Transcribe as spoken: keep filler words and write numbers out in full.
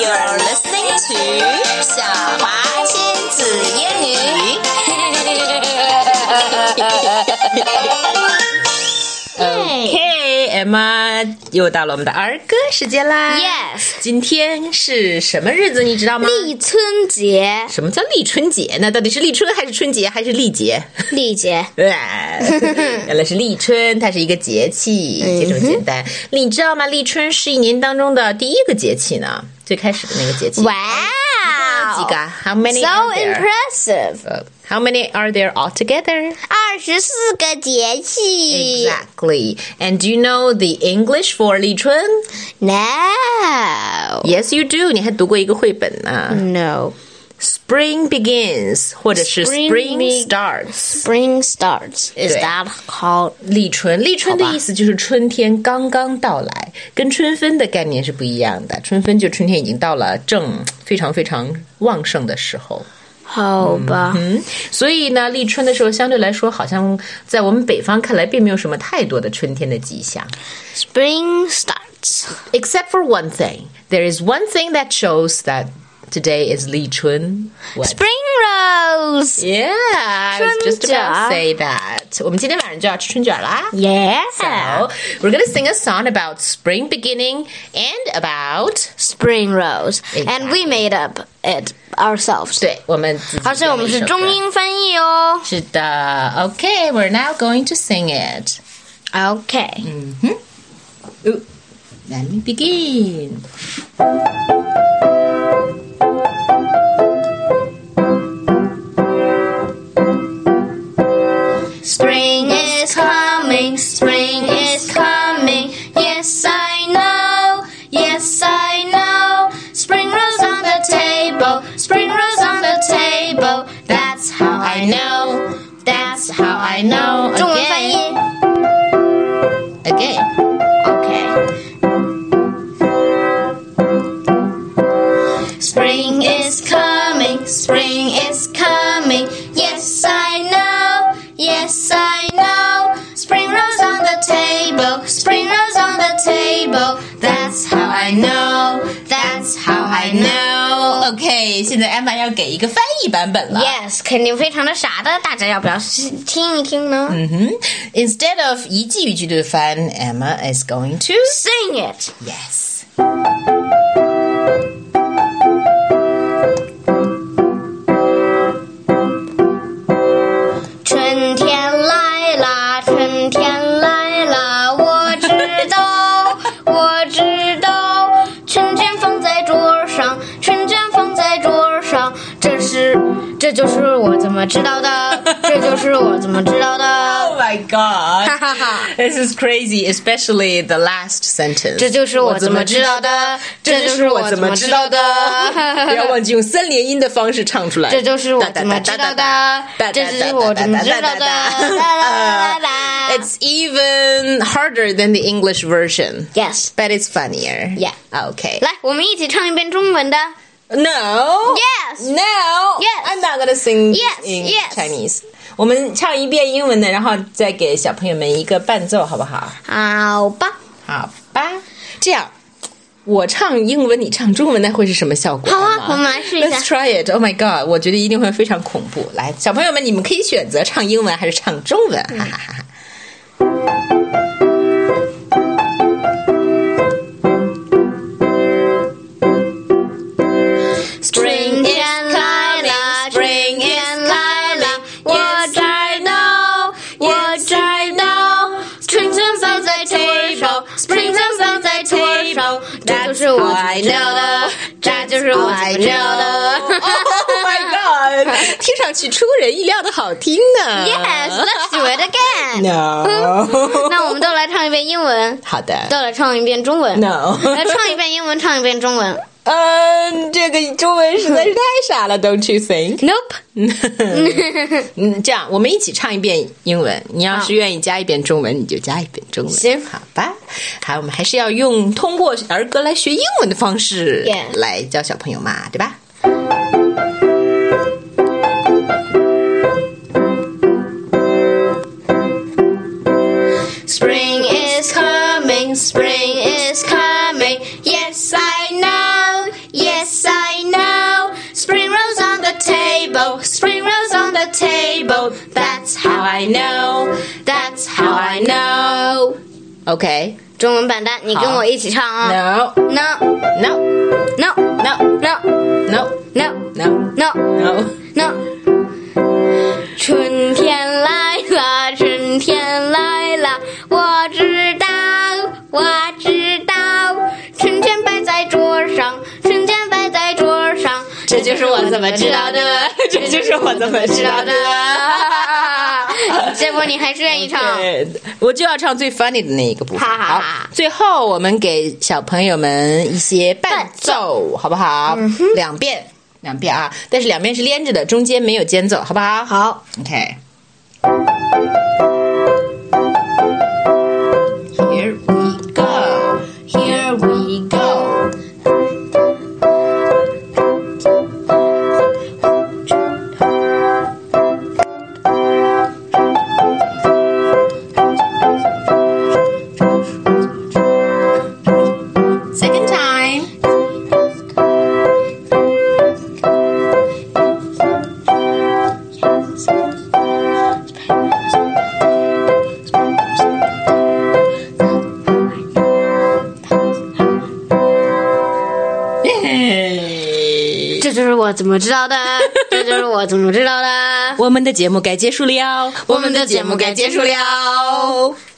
You're listening to 小华亲子英语。 OK，Emma，又到了我们的儿歌时间啦。 Yes， 今天是什么日子？你知道吗？ 立春节。 什么叫立春节呢？到底是立春还是春节还是历节？ 历节。 原来是立春，它是一个节气，就这么简单。你知道吗？立春是一年当中的第一个节气呢，最开始的那个节气。 哇、 wow, 几个 ？How many so are there? impressive. How many are there altogether? 二十四个节气。 Exactly. And do you know the English for 立春 No. Yes, you do. 你还读过一个绘本呢。 No. Spring begins 或者是 Spring Spring be- starts. Spring starts. Is 对 that called? 立春，立春的意思就是春天刚刚到来，跟春分的概念是不一样的。春分就春天已经到了正非常非常旺盛的时候。 好吧。 嗯，所以呢，立春的时候相对来说，好像在我们北方看来，并没有什么太多的春天的迹象。 Spring starts. Except for one thing. There is one thing that shows that today is 立春。 Spring rose. Yeah, I was just 春卷。 about to say that. 我们今天晚上就要吃春卷啦。 Yeah. So, we're going to sing a song about spring beginning and about Spring rose. Exactly. And we made up it ourselves. 对，我们自己而且我们是中英翻译哦。 是的 Okay, we're now going to sing it. Okay. Ooh, let me begin. Spring is coming, spring is coming. Yes, I know, yes, I know. Spring rolls on the table, spring rolls on the table. That's how I know, that's how I know. 中文翻译 Again. Okay. Spring is coming, spring is coming. Yes, I know, yes, I know. Spring rolls on the table, spring rolls on the table. That's how I know, that's how I know. OK， 现在 Emma 要给一个翻译版本了。 Yes， 肯定非常的傻的，大家要不要听一听呢？ 嗯哼 Instead of 一句一句的翻 Emma is going to Sing it. Yes. 春天来啦，春天来啦，我知道，我知道，春卷放在桌上，春卷放在桌上，这是，这就是我怎么知道的，这就是我怎么知道的。 Oh my god. This is crazy, especially the last sentence. 这就是我怎么知道的，这就是我怎么知道的。 不要忘记用三连音的方式唱出来。 这就是我怎么知道的，这就是我怎么知道的。 It's even harder than the English version. Yes. But it's funnier. Yeah. Okay. 来，我们一起唱一遍中文的。 No. Yes. No. Yes. I'm not gonna sing Yes. in Yes. Chinese. 我们唱一遍英文的，然后再给小朋友们一个伴奏，好不好？ 好吧。 好吧。这样，我唱英文，你唱中文，那会是什么效果？ 好啊，我们来试一下。 Let's try it. Oh my god！ 我觉得一定会非常恐怖。来，小朋友们，你们可以选择唱英文还是唱中文，哈哈哈哈。 Spring天来了 ，Spring 天来了，我知道，我知道，春卷放在桌上 ，Spring 卷放在桌上，这就是我知道的，这就是我知道的。 Oh my god！ 听上去出人意料的好听呢。 Yes, let's do it again. No. 那我们都来唱一遍英文， 好的。 都来唱一遍中文。 No. 来唱一遍英文，唱一遍中文。 嗯，这个中文实在是太傻了 ，Don't you think? Nope. 嗯，这样我们一起唱一遍英文。你要是愿意加一遍中文，你就加一遍中文。 行， 好吧。好，我们还是要用通过儿歌来学英文的方式 Yeah. 来教小朋友嘛，对吧？ Spring is coming, spring is coming. Yes, I know. Yes, know. That's how I know. That's how I know. OK， 中文版的，你跟我一起唱啊 ！No no no no no no no no no no no no。春天来了，春天来了，我知道，我知道，春天摆在桌上，春天摆在桌上， 这就是我怎么知道的，这就是我怎么知道的。 结果你还是愿意唱， okay, 我就要唱最 funny 的那一个部分。 哈哈哈好，最后我们给小朋友们一些伴奏，好不好？嗯、两遍，两遍啊！但是两遍是连着的，中间没有间奏，好不好？ 好 ，OK。Here we go, here we go. Second time. Yay! 这就是我怎么知道的，这就是我怎么知道的。 我们的节目该结束了，我们的节目该结束了。